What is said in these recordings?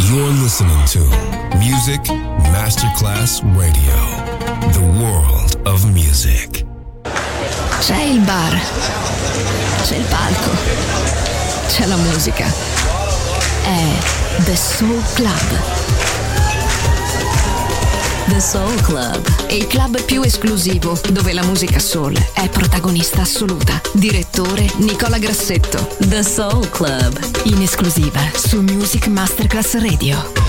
You're listening to Music Masterclass Radio, the world of music. C'è il bar, c'è il palco, c'è la musica. È The Soul Club. The Soul Club, il club più esclusivo dove la musica soul è protagonista assoluta. Direttore Nicola Grassetto. The Soul Club, in esclusiva su Music Masterclass Radio.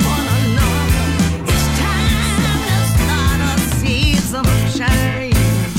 Shine.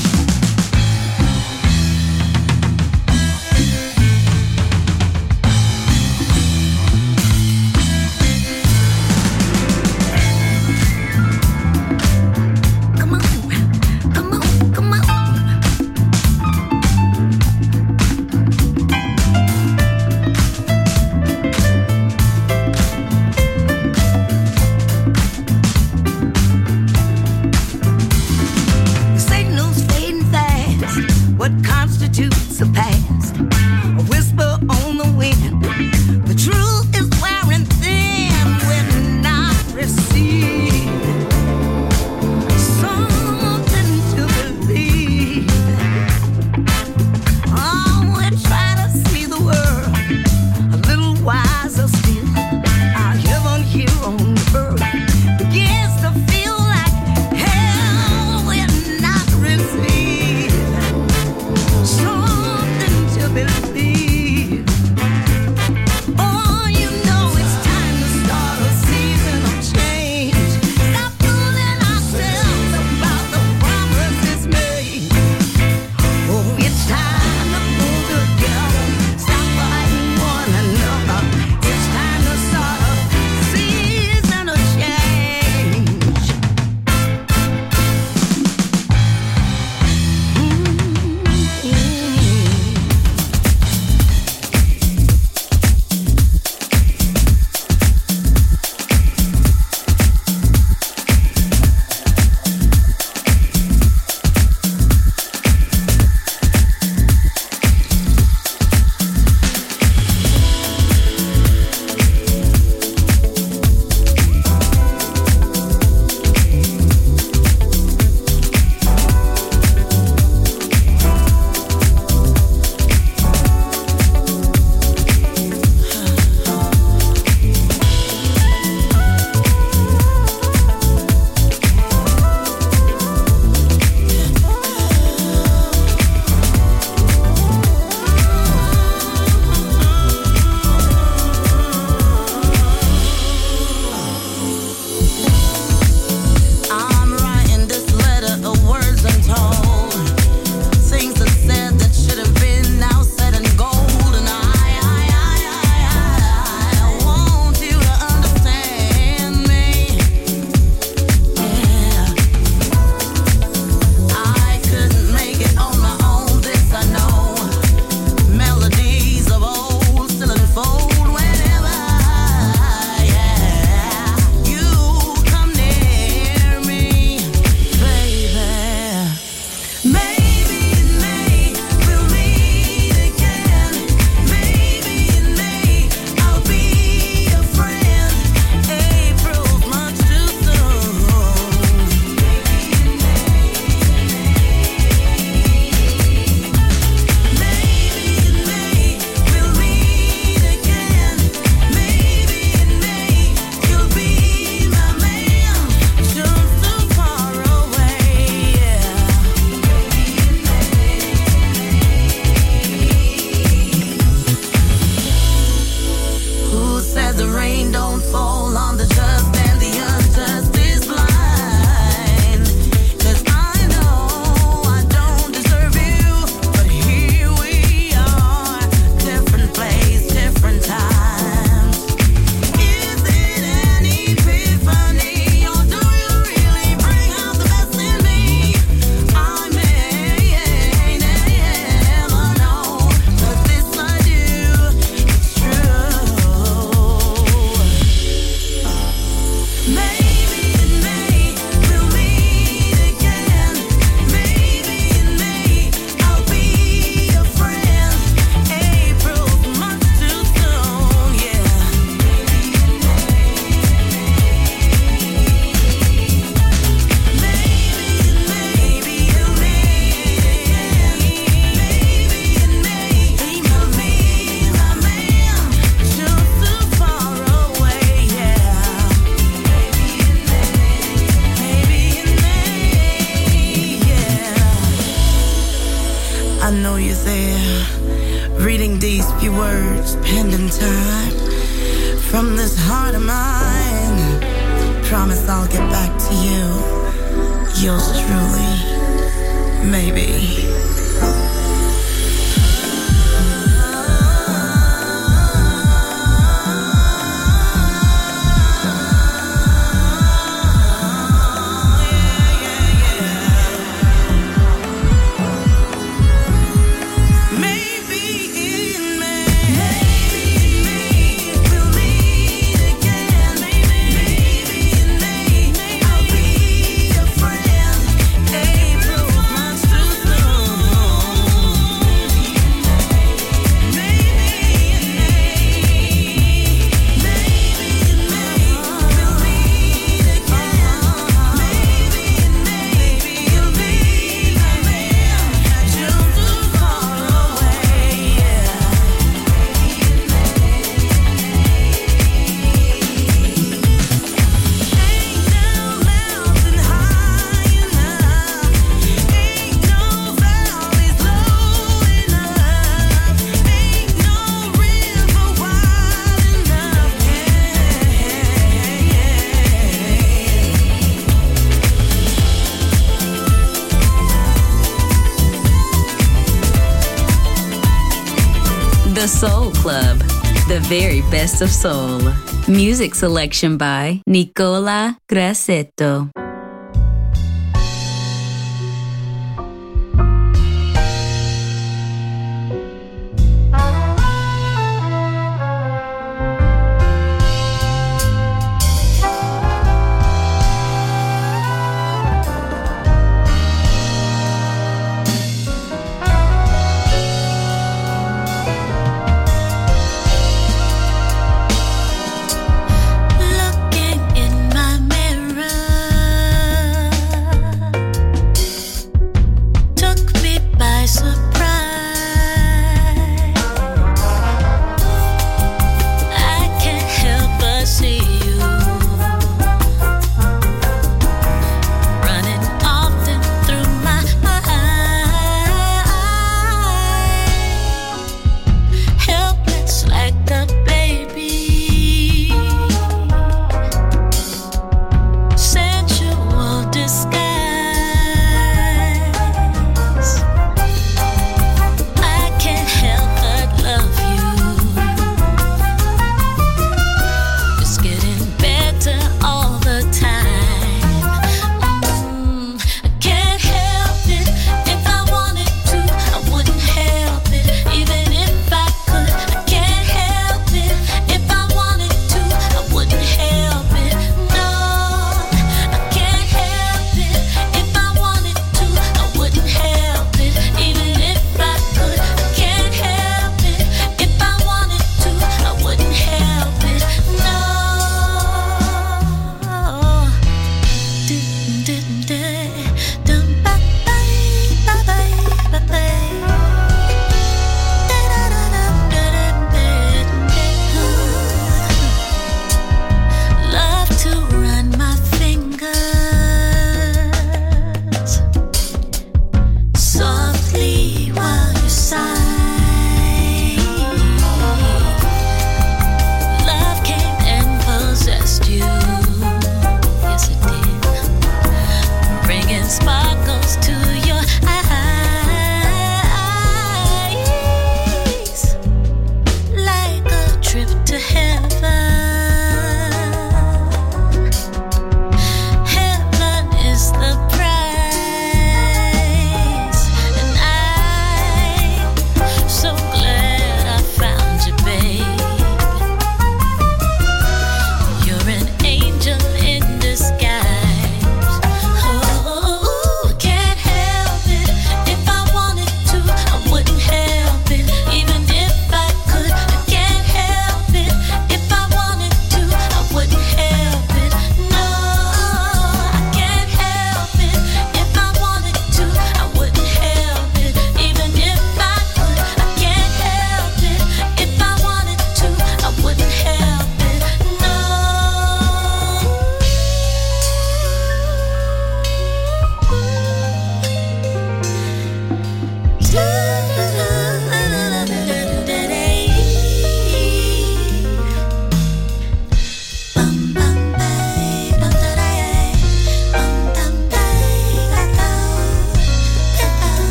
The Soul Club, the very best of soul. Music selection by Nicola Grassetto. Looking in my mirror,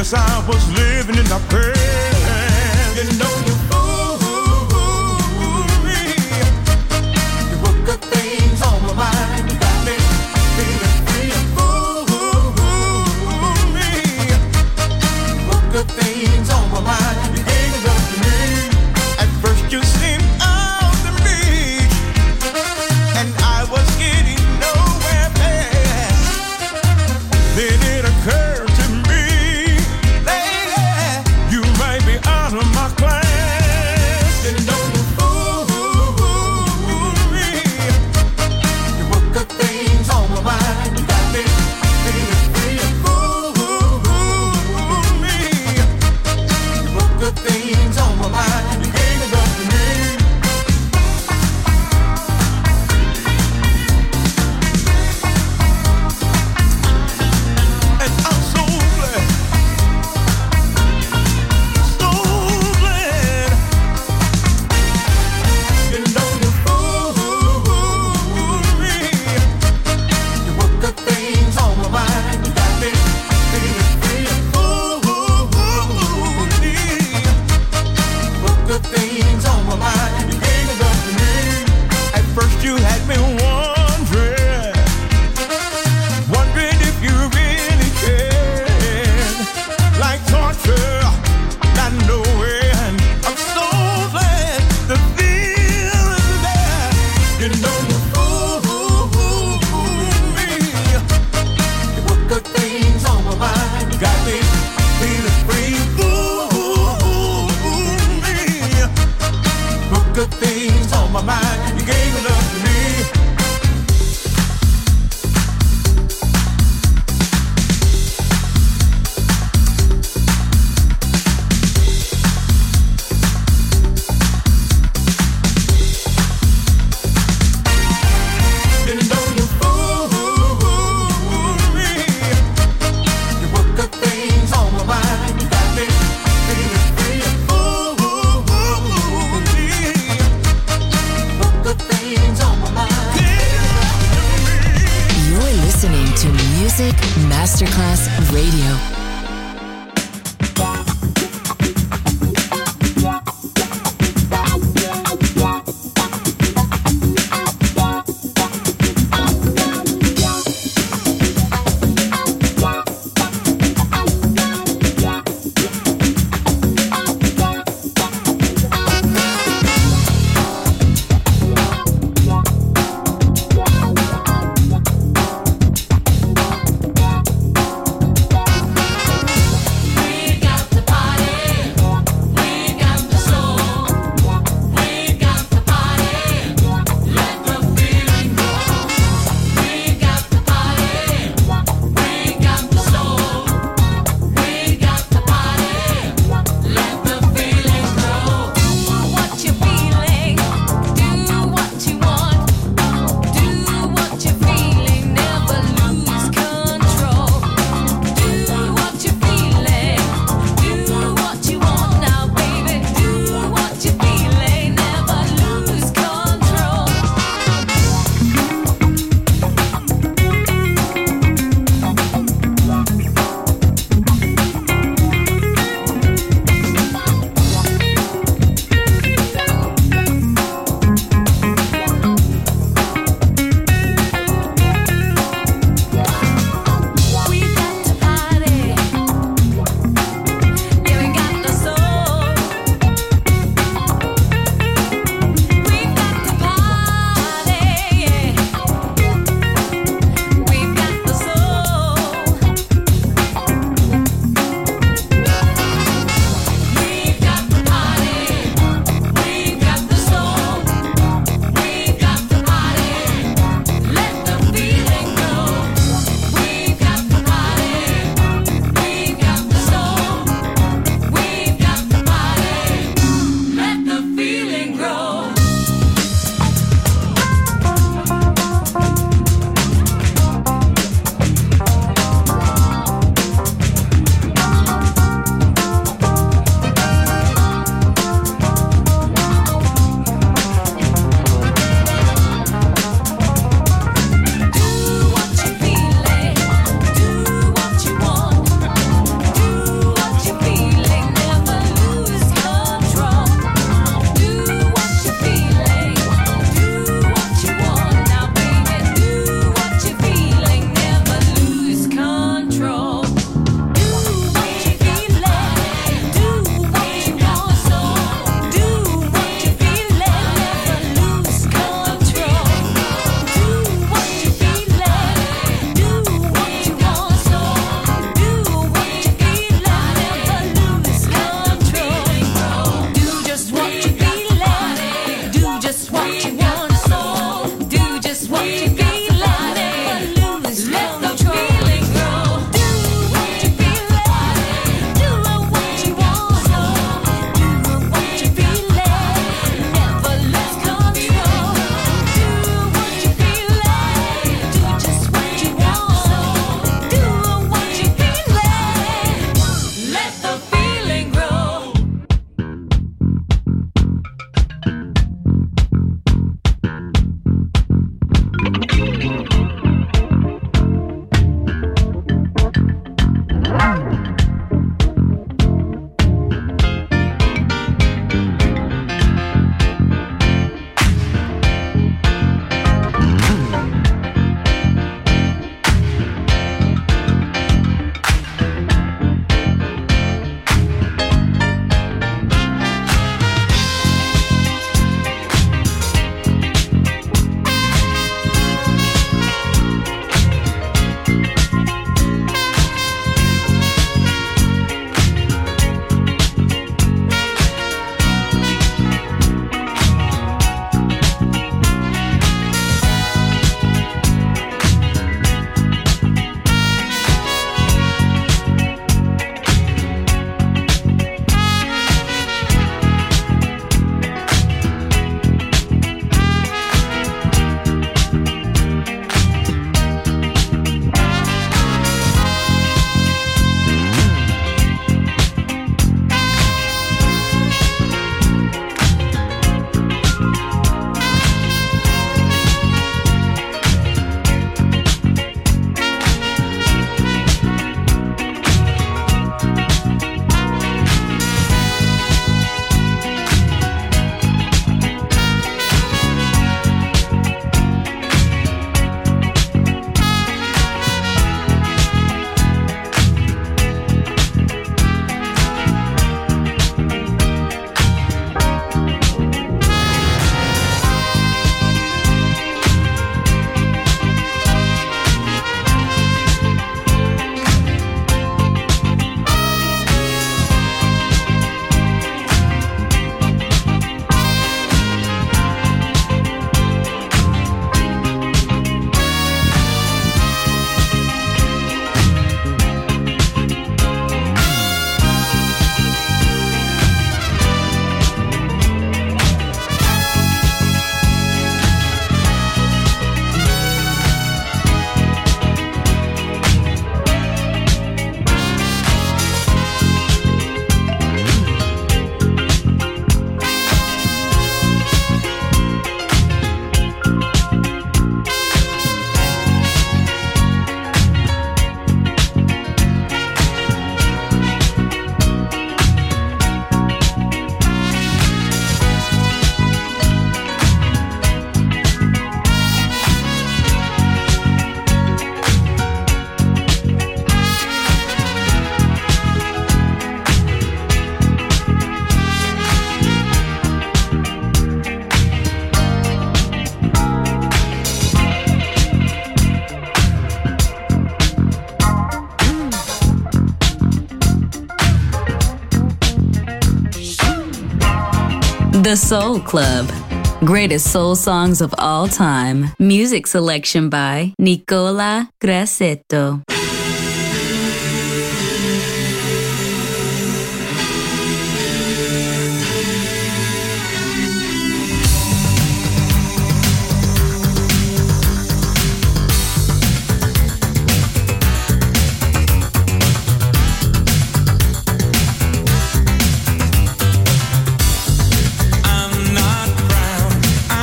Yes, I was living in the past. You know you fooled me. You put good things on my mind. You got me feeling free. You fooled me. You put good things on my mind. You gave it up to me. At first you seemed out to me, and I was getting nowhere fast. Then it occurred to me, lady, you might be out of my class. You know you fooled me. You put good things on my mind. You got me feeling free. You fooled me. You put good things on my mind. You gave it up to me. And I'm so glad, so glad. You know you fooled me. You put good things on my mind. You got me feeling free. You fooled me. Put good things on my mind. You gave it up to me. At first you had me wondering if you really cared. Like torture, not knowing. I'm so glad the feeling's there. You know you fooled me. You put good things on my mind. You got me feeling free. Fooled me. Put good things on my mind. You gave it up to me. You know you fooled me. You put good things on my mind. You got me feeling free. You fooled me. Put good things on my mind. You're listening to Music Masterclass Radio. The Soul Club. Greatest soul songs of all time. Music selection by Nicola Grassetto.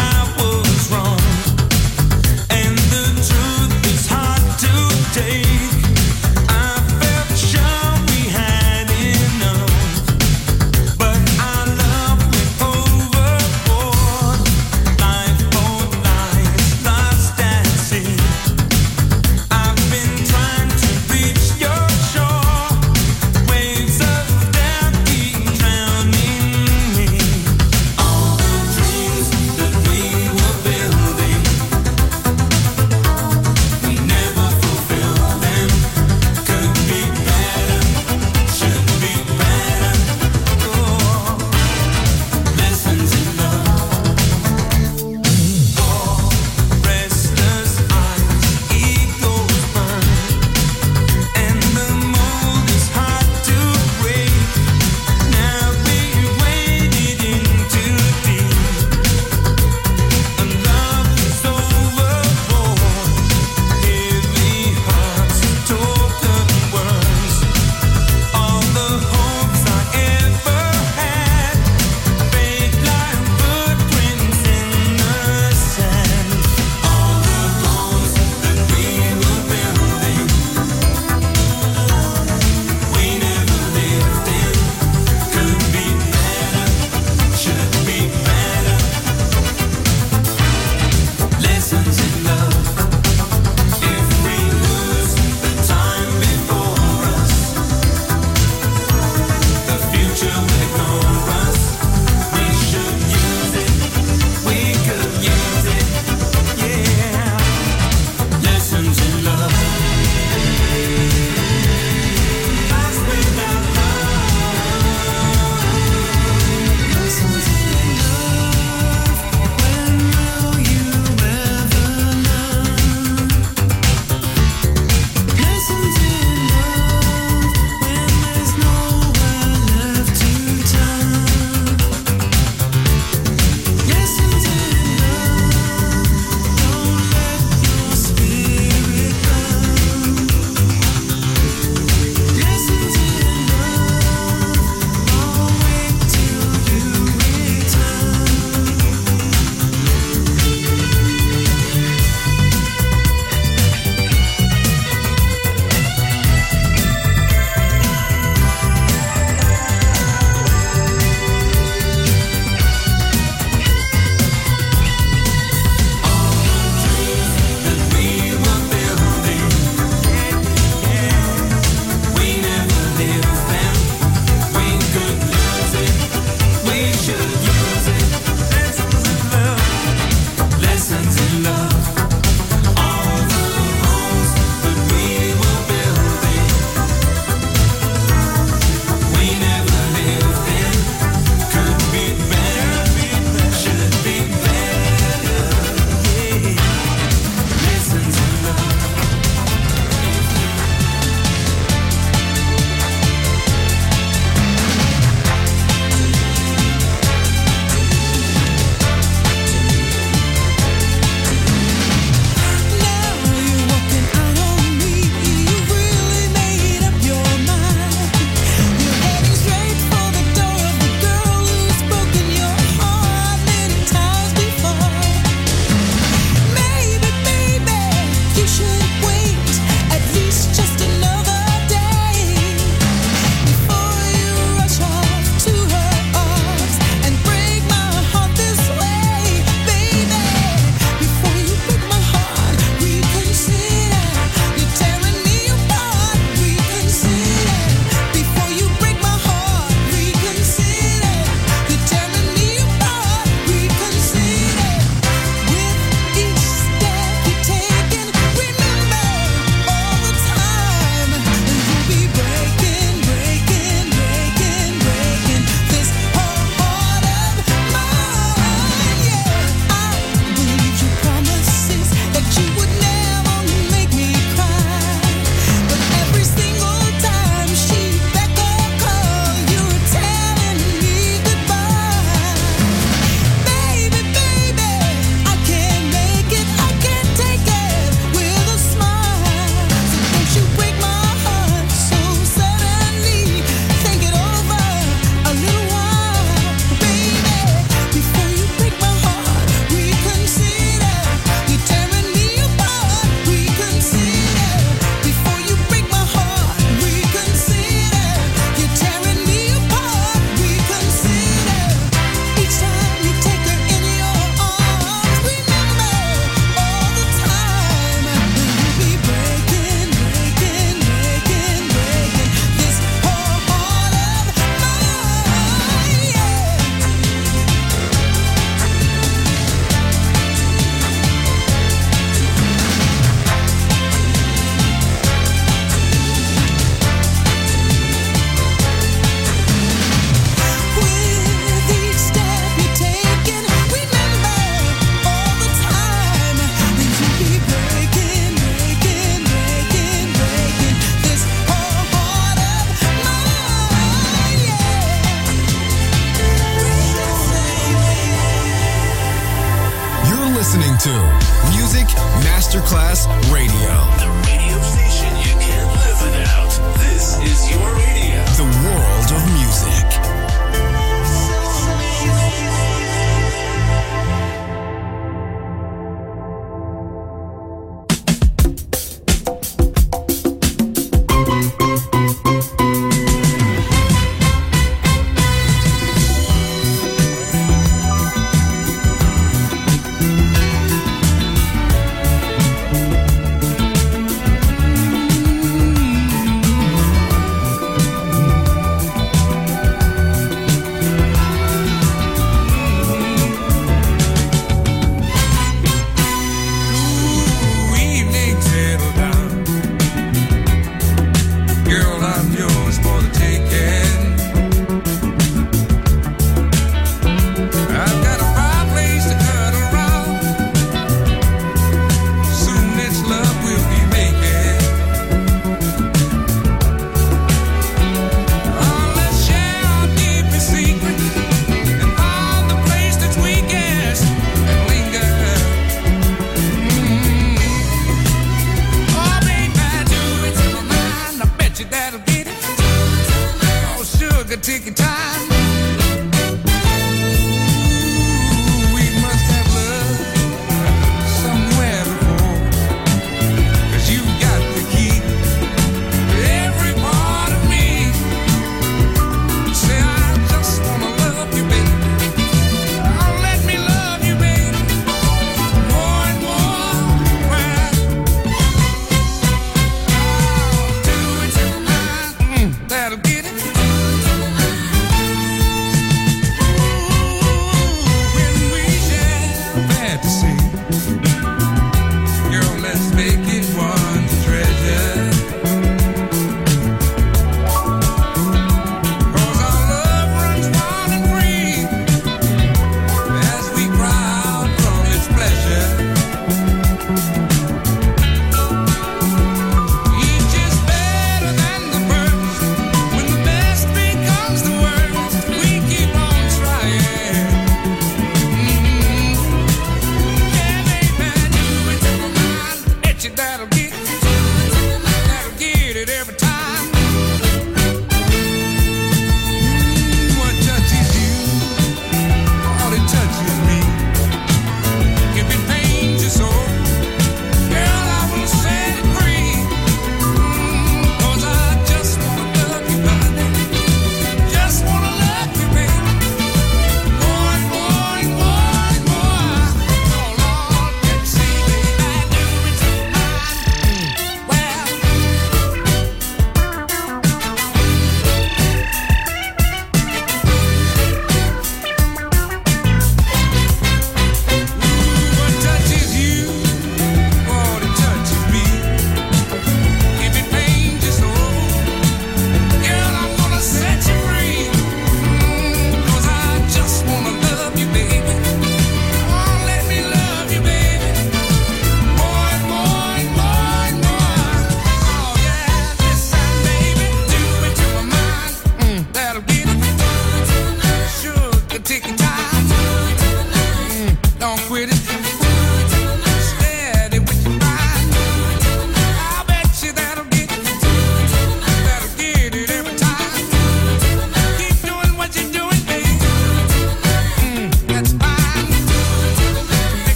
Day Masterclass Radio. The radio station you can't live without. This is your radio. The world of music.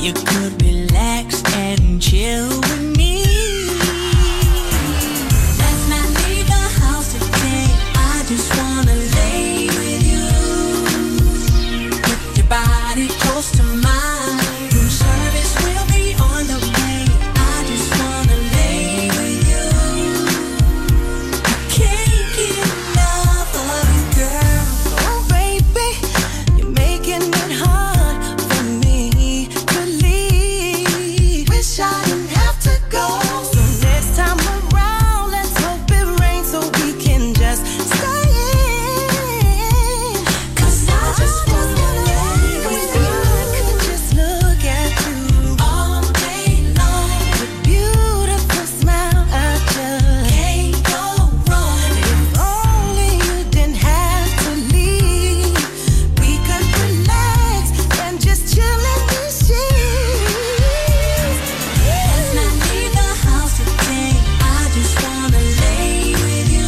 you could relax and chill with me. Let's not leave the house today. I just wanna lay with you. Put your body close to mine. Room service will be on the way. I just wanna lay with you. I can't get enough of you, girl. Oh baby, you're making it hard for me to leave. Wish I didn't have to go. So next time around, let's hope it rains so we can just stay in. 'Cause I just wanna lay with you. I could just look at you All day long, with beautiful smile. I just can't go wrong. if only you didn't have to leave. We could relax and just chill in the sheets. Let's not leave the house today. I just wanna lay with you.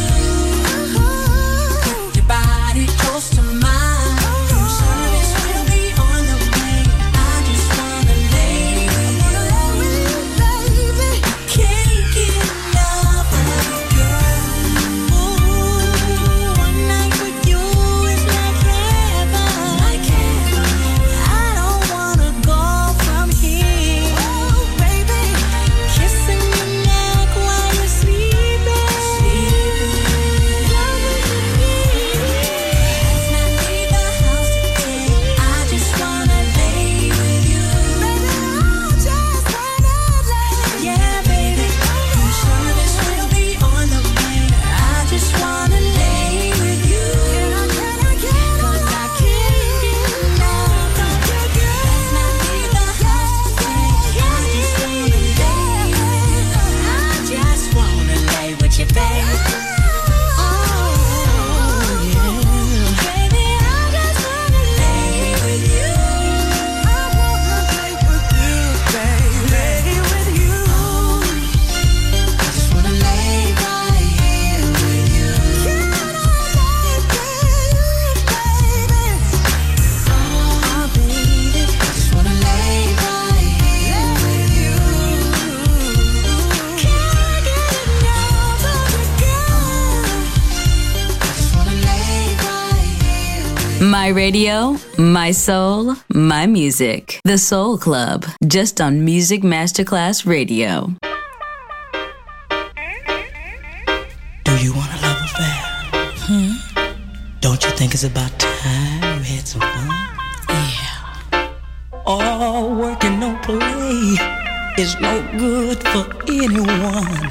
Put your body close to mine. Room service will be on the way. I just wanna lay with you. Baby, Can't get enough of you, girl. Ooh, one night with you is like heaven. I don't wanna go from here. oh baby, Kissing your neck while you're sleeping. Let's not leave the house today. I just wanna lay with you. I just wanna lay. Yeah, baby. Room service will be on the way. I just wanna lay with you. 'Cause I can't get enough of you, girl. Let's not leave the house today. I just wanna lay with you. I just wanna lay with you, baby. Baby, I just wanna lay with you. I wanna lay with you, baby. Lay with you. I just wanna lay right here with you. Can I lay with you, baby? Oh, baby, I just wanna lay right here with you. Can't get enough of you, girl. I just wanna lay right here with you. My radio, my soul, my music. The Soul Club, just on Music Masterclass Radio. Do you want a love affair? Don't you think it's about time we had some fun? Yeah. All work and no play is no good for anyone.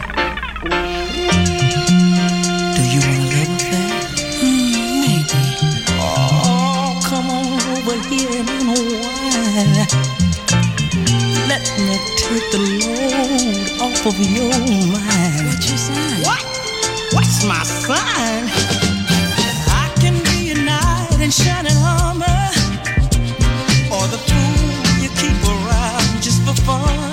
Do you want a love affair? Maybe. Oh, come on over here and unwind. Let me take the load off of your mind. What you saying? What? What's my sign? I can be a knight in shining armor, or the fool you keep around just for fun.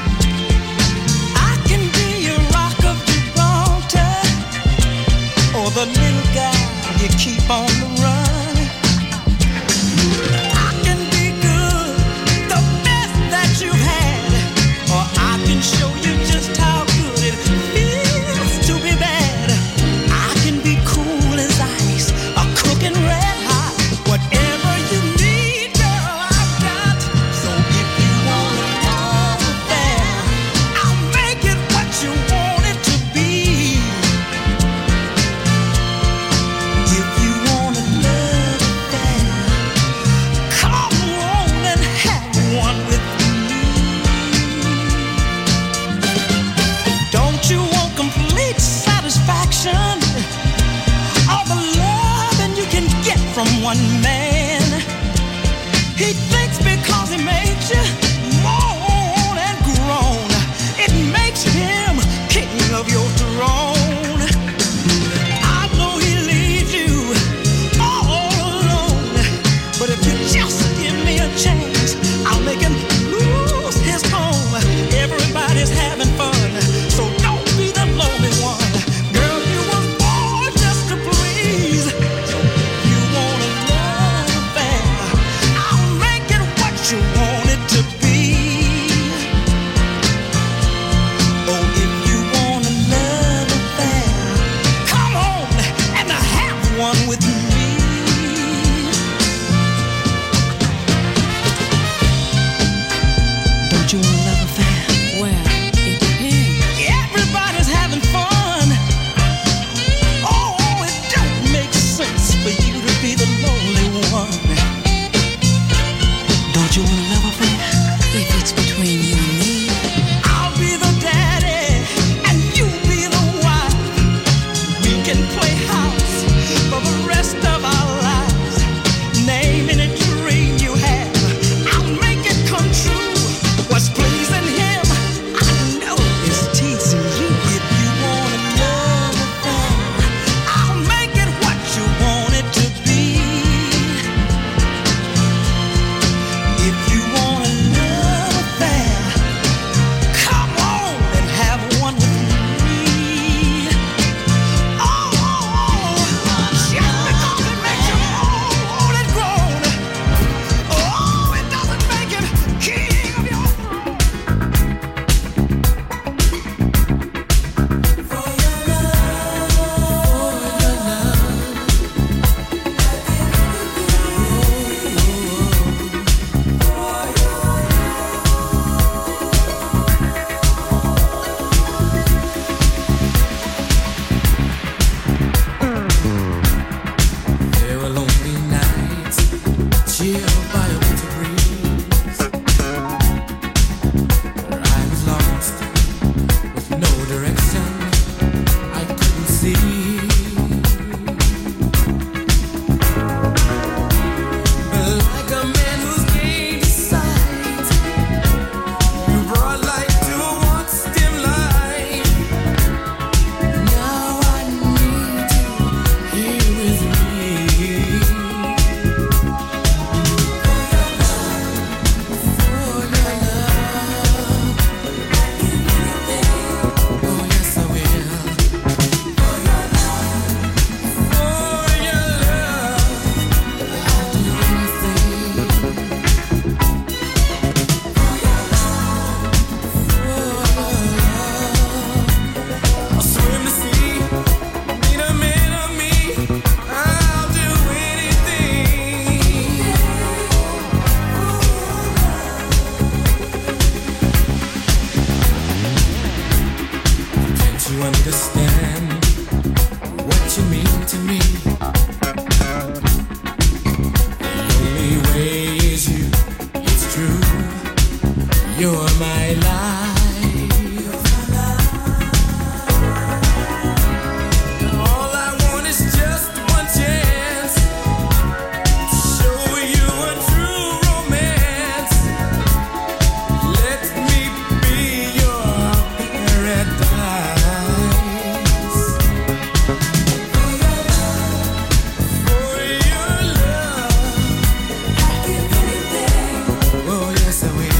I can be a rock of Gibraltar, or the little guy you keep on the run. I can be good, the best that you've had, or I can show you just how good it feels to be bad. I can be cool as ice, or cooking red hot, whatever You're my life. All I want is just one chance to show you a true romance. Let me be your paradise. For your love, I'll give anything. Oh yes I will.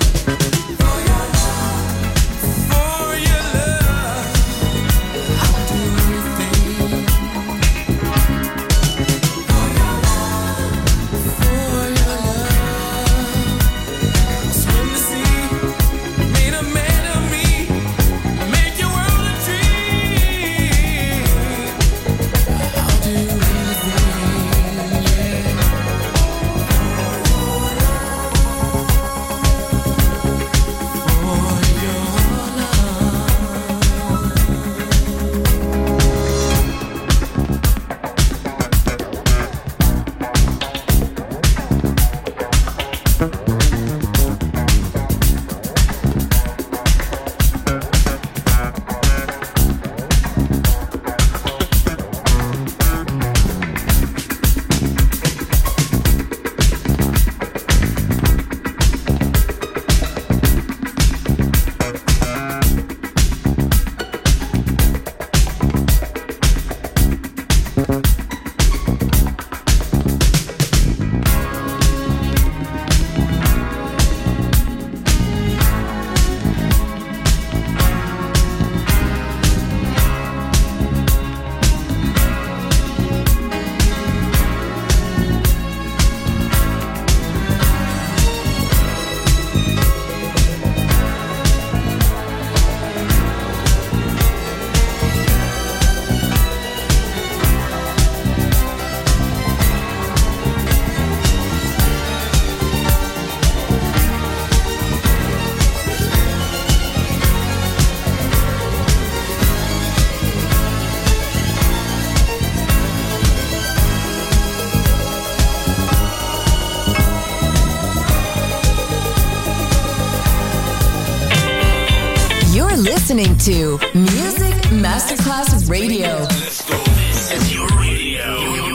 Listening to Music Masterclass Radio. Let's go. This is your radio.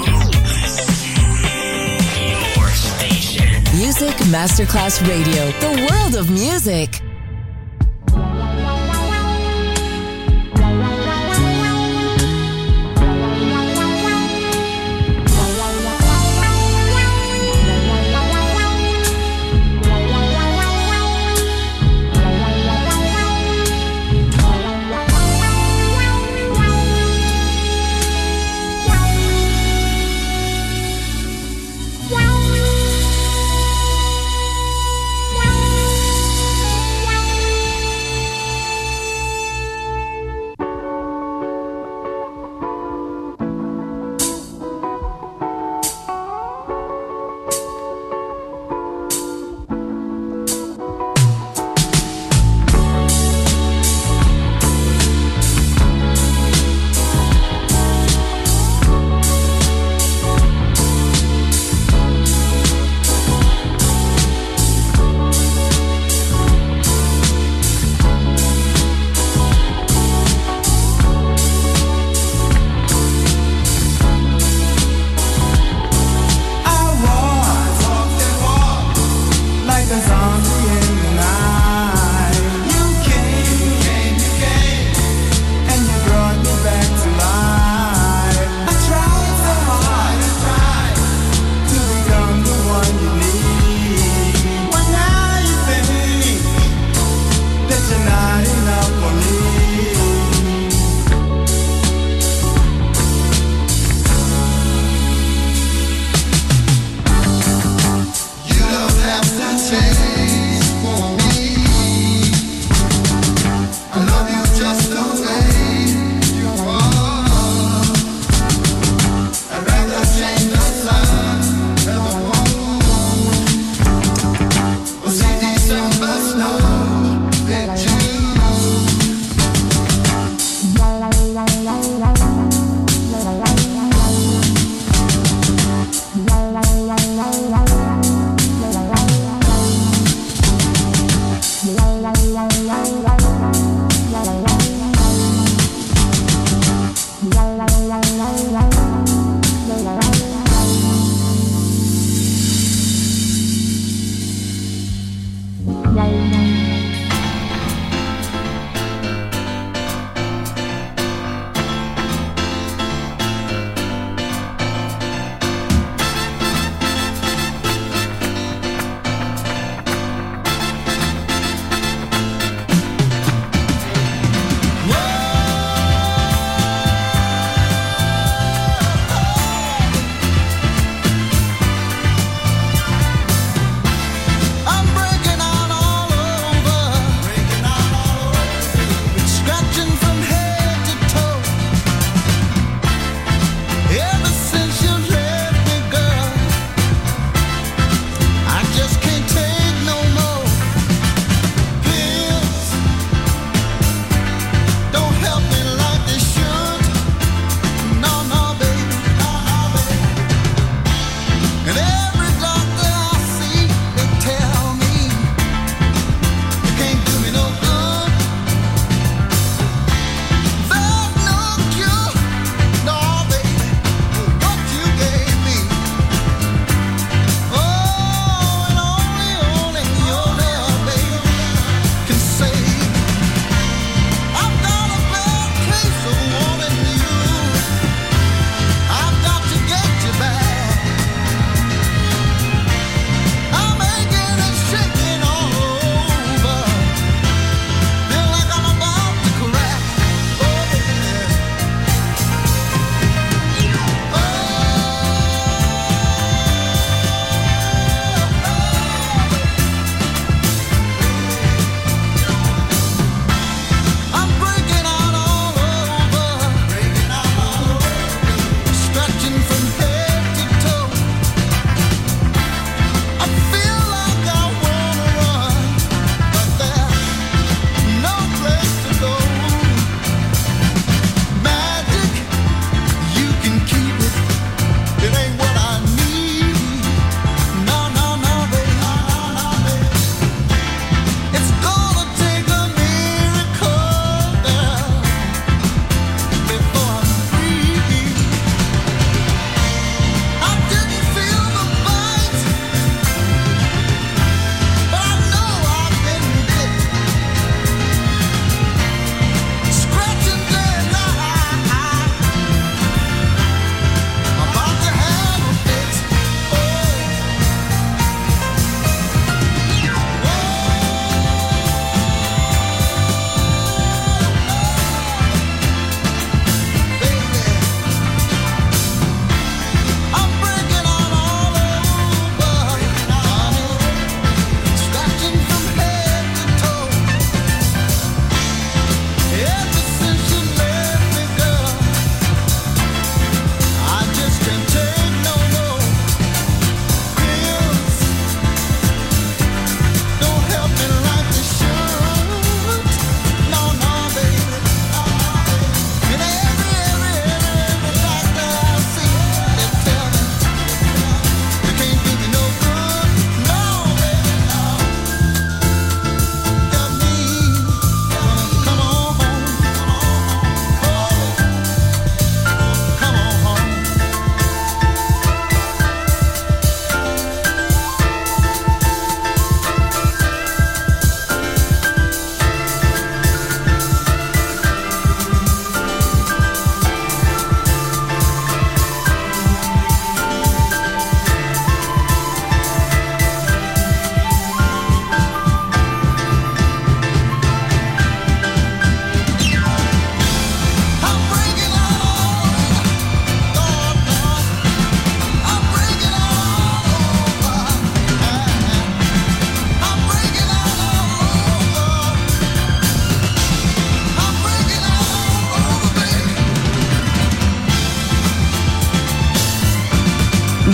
Your station. Music Masterclass Radio. The world of music. Wow.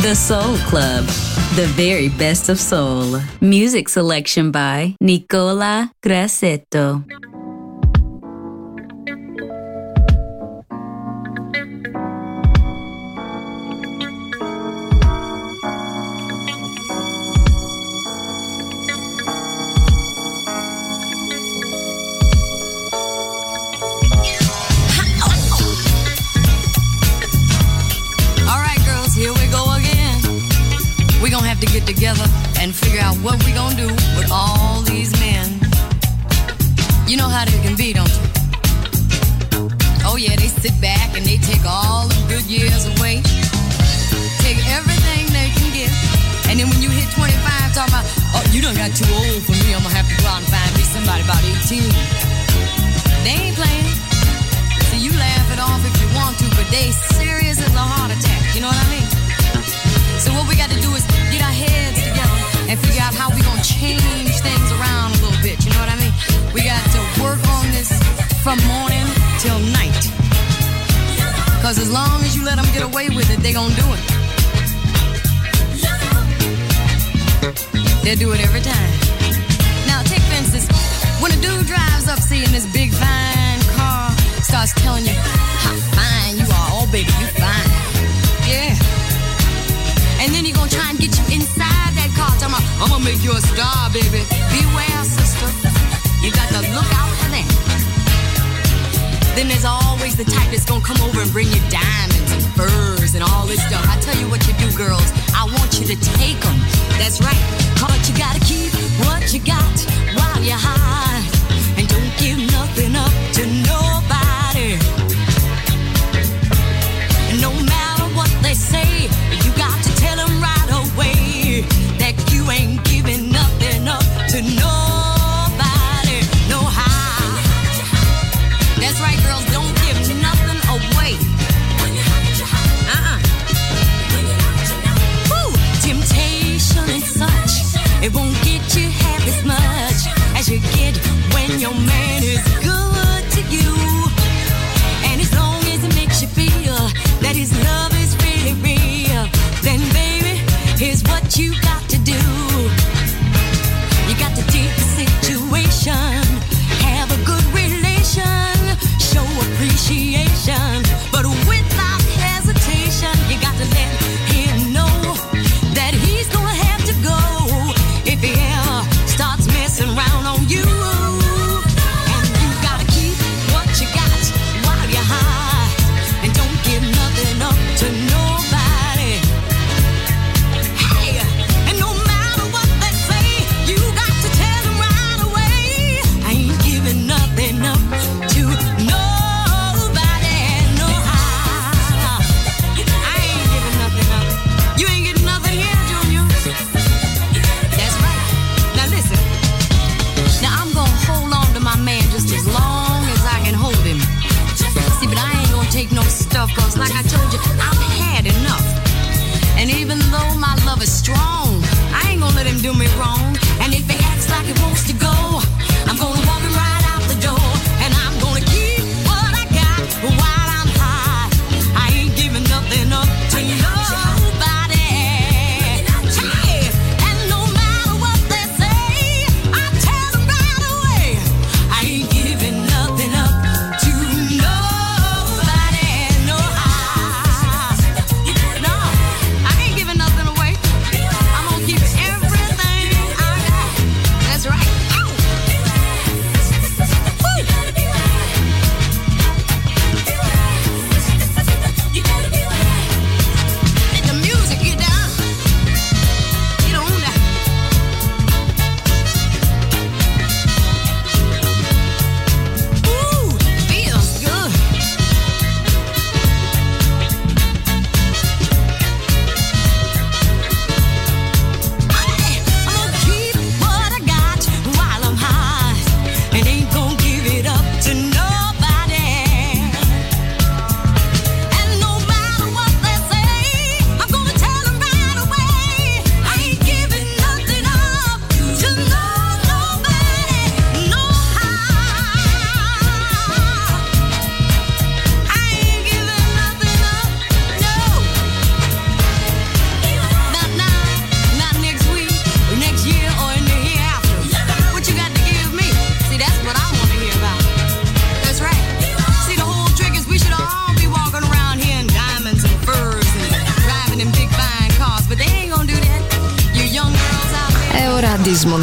The Soul Club, the very best of soul. Music selection by Nicola Grassetto. To get together and figure out what we gonna do with all these men. You know how they can be, don't you? Oh yeah, they sit back and they take all the good years away, take everything they can get, and then when you hit 25, talking about, oh, you done got too old for me, I'm gonna have to go out and find me somebody about 18. They ain't playing. So you laugh it off if you want to, but they serious as a heart attack, you know what I mean? So what we got to do is get our heads together and figure out how we gonna change things around a little bit, you know what I mean? We got to work on this from morning till night. Cause as long as you let them get away with it, they gonna do it. They'll do it every time. Now take for instance, when a dude drives up seeing this big fine car, starts telling you how fine you are, oh baby, you fine. Yeah. And then he gonna try and get you inside that car, talking about, I'm gonna make you a star, baby. Beware, sister. You got to look out for that. Then there's always the type that's gonna come over and bring you diamonds and furs and all this stuff. I tell you what you do, girls. I want you to take them. That's right. But you gotta keep what you got while you're high. And don't give nothing up to nobody. And no matter what they say, you got to tell them right away that you ain't giving nothing up to nobody, no how. That's right, girls, don't give nothing away. Woo! Temptation and such, it won't get you half as much as you get when your man is good to you. And as long as it makes you feel that his love is really real, then baby, here's what you got to do. You got to take the situation, have a good relation, show appreciation, but without hesitation, you got to let him know that he's gonna have to go if he ever starts messing around on you. And you gotta keep what you got while you're high, and don't give nothing up to nobody. Hey, and no matter what they say, you got to tell them right away, I ain't giving nothing up to nobody, no how. I ain't giving nothing up. You ain't getting nothing here, Junior. That's right. Now listen. Now I'm gonna hold on to my man just as long as I can hold him. See, but I ain't gonna take no stuff, cause like I told you, I've had enough. And even though my love is strong, I ain't gonna let him do me wrong. And if he acts like he wants to go, I'm gonna walk him right out the door. And I'm gonna keep what I got while I'm high. I ain't giving nothing up to nobody. Hey, and no matter what they say, I tell them right away, I ain't giving nothing up to nobody, no how.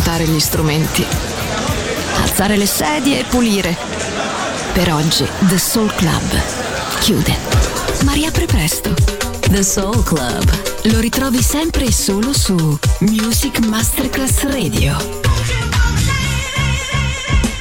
smontare gli strumenti, alzare le sedie e pulire. Per oggi The Soul Club chiude, ma riapre presto. The Soul Club. Lo ritrovi sempre e solo su Music Masterclass Radio.